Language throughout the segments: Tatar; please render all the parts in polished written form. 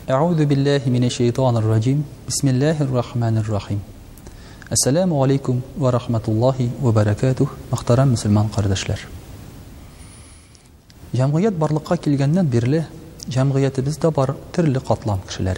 А'уду биллахи минаш-шайтанир раджим. Бисмиллахир-рахманир-рахим. Ассаламу алейкум ва рахматуллахи ва баракатух. Мөхтәрәм мөселман кардәшләр. Җәмгыять барлыкка килгәннән бирле җәмгыятебездә бар төрле катлам кешеләре.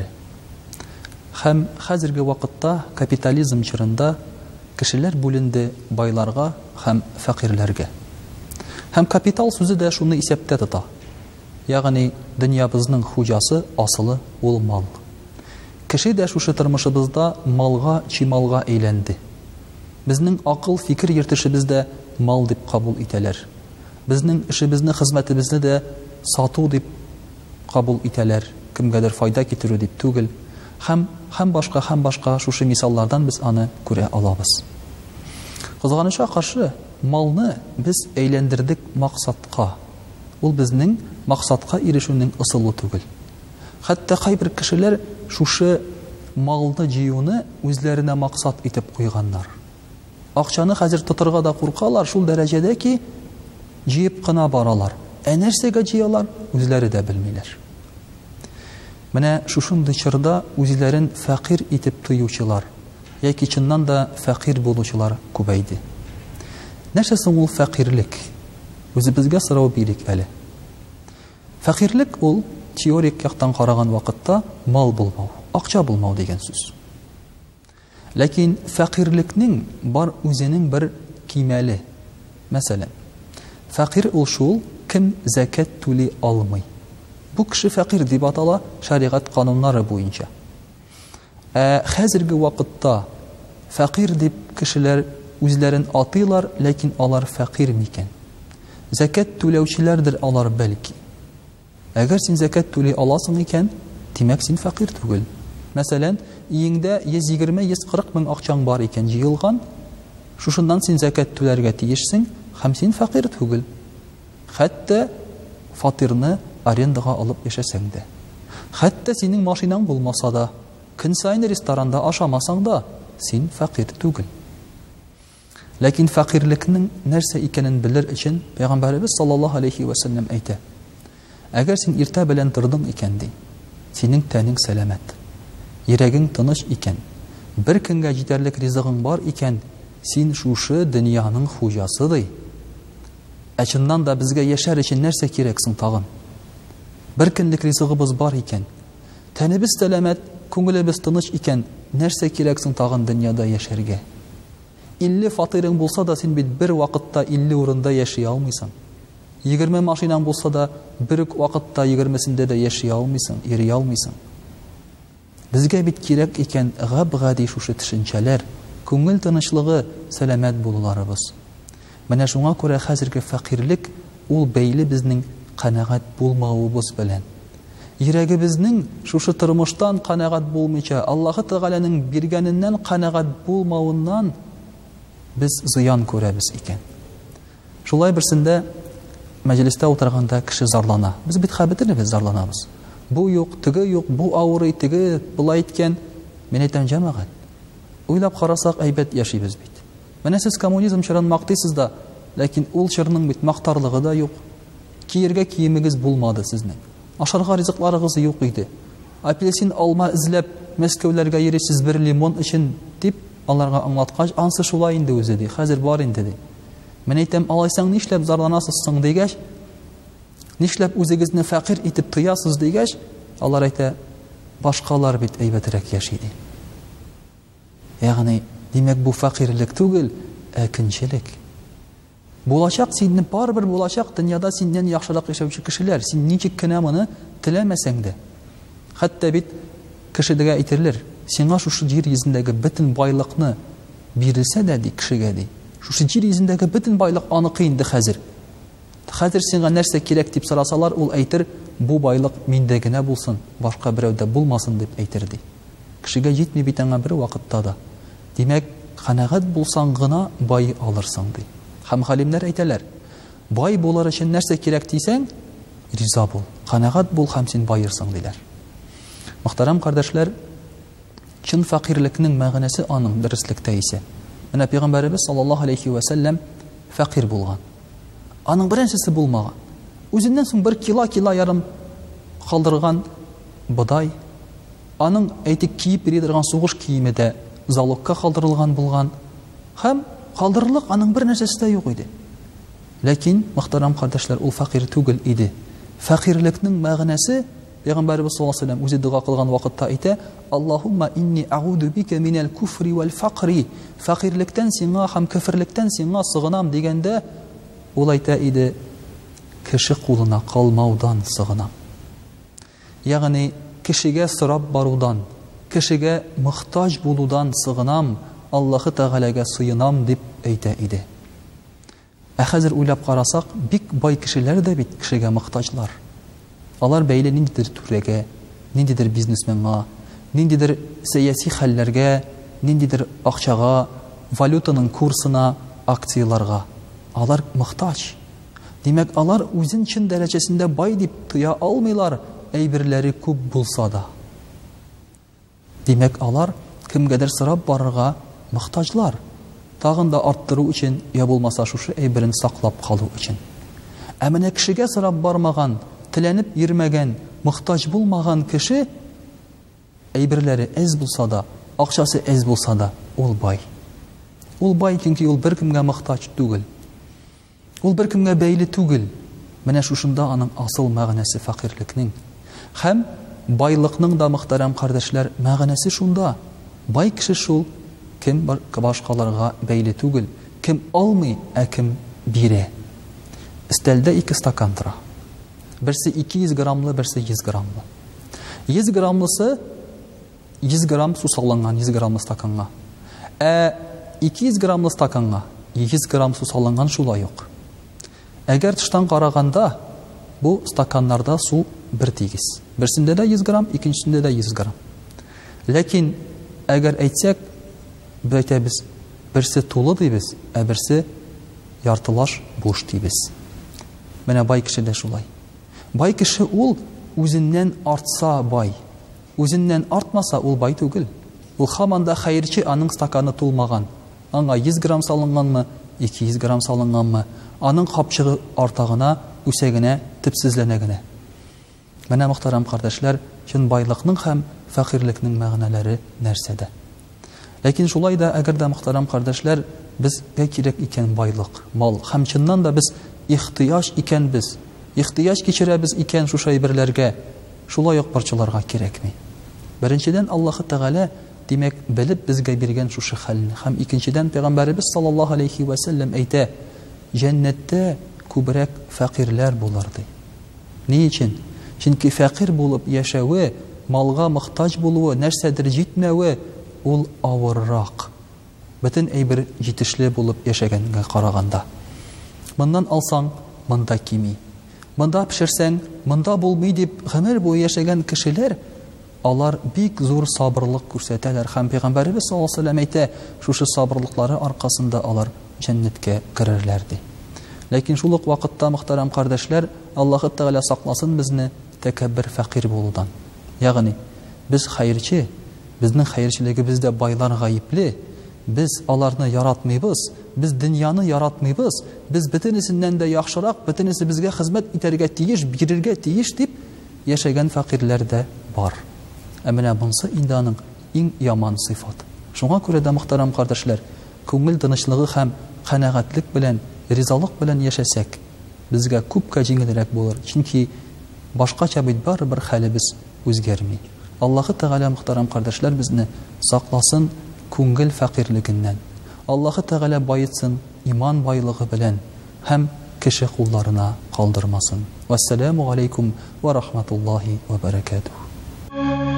Һәм хәзерге вакытта капитализм чорында кешеләр бүленде байларга һәм фәкыйрьләргә. Һәм капитал сүзе дә шуны исәптә тота. Ягъни дөньябызның хуҗасы асылы ул мал. Кеше дә шушы тормышыбызда малга, чималга әйләнде. Безнең акыл, фикер йөртешебездә мал дип кабул итәләр. Безнең эшебезне, хезмәтебезне дә сату дип кабул итәләр. Кемгәдер файда китерү дип түгел. Һәм башка шушы мисаллардан без аны күрә алабыз. Кызганычка каршы, малны без әйләндердек максатка. Ул безнең максатка ирешүнең ысулы түгел. Хәтта кайбер кешеләр шушы малны җыюны үзләренә максат итеп куйганнар. Акчаны хәзер тотырга да куркалар шул дәрәҗәдә ки, җыеп кына баралар. Нәрсәгә җыялар, үзләре дә белмиләр. Менә шушындый чорда үзләрен фәкыйрь итеп тоючылар, яки чыннан да фәкыйрь булучылар күбәйде. Нәрсә соң ул фәкыйрлек? Үзебезгә сорау бирик әле. Фәкыйрлек ул теорик яктан караган вакытта мал булмау, акча булмау дигән сүз. Ләкин фәкыйрлекнең бар үзенең бер кимәле. Мәсәлән, фәкыйрь ул шул кем закат түли алмый. Бу кеше фәкыйрь дип атала шәригать кануннары буенча. Хәзерге вакытта фәкыйрь дип кешеләр үзләрен атыйлар, ләкин алар фәкыйрь микән? Закат түләүчеләрдер алар бәлки. Әгәр син закат түли аласың икән, димәк син фәкыйрь түгел. Мәсәлән, иеңдә 120-140 мең акчаң бар икән җыелган, шушыннан син закат түләргә тиешсең, һәм син фәкыйрь түгел. Хәтта фатирны арендага алып яшәсәң дә. Хәтта синең машинаң булмаса да, көн сайын ресторанда ашамасаң да, син фәкыйрь түгел. Ләкин фәкыйрлекнең нәрсә икәнен белер өчен Пәйгамбәрбез саллаллаһу алейхи ва саллям әйтә: әгәр син иртә белән тордың икән ди, синең тәнең сәламәт, йөрәгең тыныч икән, бер көнгә җитәрлек ризыгың бар икән, син шушы дөньяның хуҗасы ди. Чыннан да безгә яшәр өчен нәрсә кирәк соң тагын? Бер көнлек ризыгыбыз бар икән, тәнебез сәламәт, күңелебез тыныч икән, нәрсә кирәк соң тагын дөньяда яшәргә? 50 фатирың булса да син бит бер вакытта 50 урында яши алмыйсың. 20 машинаң булса да бер вакытта 20-сендә дә яши алмыйсың, йөри алмыйсың. Безгә бит кирәк икән габгади шушы төшенчәләр, күңел тынычлыгы, сәламәт булуларыбыз. Менә шуңа күрә хәзерге фәкыйрлек ул бәйле безнең канәгать булмавыбыз белән. Йөрәгебезнең шушы тормыштан канәгать булмыйча, Аллаһы Тәгаләнең биргәненнән канәгать булмавыннан без зыян күрәбез икән. Шулай берсендә мәҗлестә утырганда кеше зарлана. Без бит хәбәтлебез зарланабыз. Бу юк, теге юк, бу авырый, теге булай иткән. Мен әйтәм, җәмәгать, уйлап карасак әйбәт яшибез бит. Менә сез коммунизм чорын мактыйсыз да, ләкин ул чорның бит мактарлыгы да юк. Киергә киемегез булмады сезнең. Ашарга ризыкларыгыз юк иде. Апельсин, алма эзләп Мәскәүләргә йөрисез бер лимон өчен дип аларга аңлаткач, ансы шулай инде үзе ди. Хәзер бар инде ди. Мен әйтәм, алайсаң нишләп зарланасыз соң дигәч, нишләп үзегезне фәкыйрь итеп тоясыз дигәч, алар әйтә, башкалар бит әйбәтрәк яши ди. Ягъни, димәк бу фәкыйрлек түгел, күнчелек. Булачак синне барбер булачак, дөньяда синнән яхшырак яшәүче кешеләр, син ничек кенә моны теләмәсәң дә. Хәтта бит кешегә әйтерләр, сиңа шушы җир йөзендәге бөтен байлыкны бирелсә дә ди кешегә ди. Шушы җир йөзендәге бөтен байлык аныкы инде хәзер. Хәзер сиңа нәрсә кирәк дип сорасалар, ул әйтер, бу байлык миндә генә булсын, башка берәүдә булмасын дип әйтер ди. Кешегә җитми бит аңа бер вакытта да. Димәк, канәгать булсаң гына бай алырсың ди. Һәм галимнәр әйтәләр, бай булар өчен нәрсә кирәк дисәң, риза бул, канәгать бул һәм син байырсың диләр. Мөхтәрәм кардәшләр, чын фәкыйрлекнең мәгънәсе аның дөрестлектә исә. Менә Пәйгамбәрбез саллаллаһу алейхи ва саллям фәкыйрь булган. Аның беренчесе булмаган. Үзеннән соң 1 кило ярым калдырган бодай, Аның әйтик киеп бирә торган сугыш киеме дә залогка калдырылган булган. Һәм калдырырлык аның бер нәрсәсе дә юк иде. Ләкин, мөхтәрәм кардәшләр, ул фәкыйрь түгел иде. Фәкыйрьлекнең мәгънәсе Пәйгамбәрбез саллаллаһу алейһи ва саллям үзе дуга кылган вакытта әйтә: "Аллаһумма инни а'уду бика минал куфри вал фақри." Фәкыйрьлектән сиңа һәм кафирлектән сиңа сыгынам дигәндә, ул әйтә иде: "Кеше кулына калмаудан сыгынам." Ягъни кешегә сорап барудан, кешегә мохтаҗ булудан сыгынам, Аллаһы Тәгаләгә сыйынам дип әйтә иде. Ә хәзер уйлап карасак, бик бай кешеләр дә бит кешегә мохтаҗлар. Алар бәйле ниндидер түрәгә, ниндидер бизнесменга, ниндидер сәяси хәлләргә, ниндидер акчага, валютаның курсына, акцияларга. Алар мохтаҗ. Димәк, алар үзен чын дәрәҗәсендә бай дип тоя алмыйлар, әйберләре күп булса да. Димәк, алар кемгәдер сорап барырга мохтаҗлар. Тагын да арттыру өчен, я булмаса шушы әйберен саклап калу өчен. Ә менә кешегә сорап бармаган, теләнеп йөрмәгән, мохтаҗ булмаган кеше әйберләре әз булса да, акчасы әз булса да, ул бай. Ул бай, чөнки ул беркемгә мохтаҗ түгел. Ул беркемгә бәйле түгел. Менә шушында аның асыл мәгънәсе фәкыйрьлекнең. Һәм байлыкның да, мөхтәрәм кардәшләр, мәгънәсе шунда. Бай кеше шул, кем башкаларга бәйле түгел, кем алмый, ә кем бирә. Өстәлдә 2 стакан тора. Берсе 200 граммлы, берсе 100 граммлы. 100 граммлысы 100 грамм су салынган 100 граммлы стаканга. Ә 200 граммлы стаканга 100 грамм су салынган шулай ук. Әгәр тыштан караганда, бу стаканнарда су бер тигез. Берсендә дә 100 грамм, икенчесендә дә 100 грамм. Ләкин әгәр әйтсәк, әйтәбез, берсе тулы дибез, ә берсе яртылаш буш дибез. Менә бай кеше дә шулай. Бай кеше ул үзеннән артса бай. Үзеннән артмаса ул бай түгел. Ул һаман да хәерче, аның стаканы тулмаган. Аңа 100 грамм салынганмы, 200 грамм салынганмы, аның капчыгы артагына, үсәгенә, типсезләнә генә. Менә мөхтәрәм кардәшләр, чын байлыкның һәм фәкыйрьлекнең мәгънәләре нәрсәдә? Ләкин шулай да, әгәр дә мөхтәрәм кардәшләр, безгә кирәк икән байлык, мал, һәм чыннан да без ихтыяҗ икәнбез, ихтыяҗ кичерәбез икән шушы әйберләргә, шулай ук парчаларга кирәкми. Беренчедән, Аллаһы Тәгалә, димәк, белеп безгә биргән шушы хәлне, һәм икенчедән, Пәйгамбәрбез саллаллаһу алейһи ва саллям әйтә: "Җәннәттә күбрәк фәкыйрьләр булыр" ди. Ни өчен? Чөнки фәкыйрь булып яшәүе, малга мохтаҗ булуы, нәрсәдер җитмәүе, ул авыррак. Бөтен әйбер җитешле булып яшәгәнгә караганда. Моннан алсаң, монда кими. Монда пешерсәң, монда булмый дип гомер буе яшәгән кешеләр, алар бик зур сабырлык күрсәтәләр. Һәм Пәйгамбәрбез саллаллаһу алейһи ва саллям әйтә, шушы сабырлыклары аркасында алар җәннәткә керерләр ди. Ләкин шул ук вакытта, мөхтәрәм кардәшләр, Аллаһы Тәгалә сакласын безне тәкәббер фәкыйрь булудан. Ягъни, без хәерче, безнең хәерчелегебездә байлар гаепле, без аларны яратмыйбыз, без дөньяны яратмыйбыз, без бөтенесеннән дә яхшырак, бөтенесе безгә хезмәт итәргә тиеш, бирергә тиеш дип яшәгән фәкыйрьләр дә бар. Ә менә бунсы инде аның иң яман сыйфат. Шуңа күрә дә, мөхтәрәм кардәшләр, күңел тынычлыгы һәм канәгатьлек белән, ризалык белән яшәсәк, безгә күпкә җиңелрәк булыр. Чөнки башкача бит барыбер хәлебез үзгәрми. Аллаһы Тәгалә, мөхтәрәм кардәшләр, безне сакласын күңел фәкыйрьлегеннән. Аллаһы Тәгалә байытсын иман байлыгы белән һәм кеше кулларына калдырмасын. Вассаламу алейкум ва рахматуллаһи ва баракатуһ.